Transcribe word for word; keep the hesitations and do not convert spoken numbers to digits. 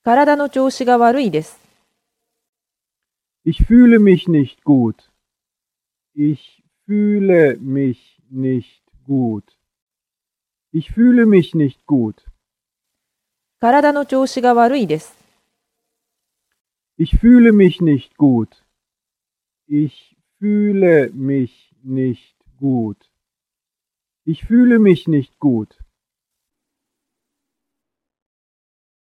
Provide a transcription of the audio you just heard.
体の調子が悪いです。 Ich fühle mich nicht gut. Ich fühle mich nicht gut. Ich fühle mich nicht gut. 体の調子が悪いです。 Ich fühle mich nicht gut. Ich fühle mich nicht gut. Ich fühle mich nicht gut.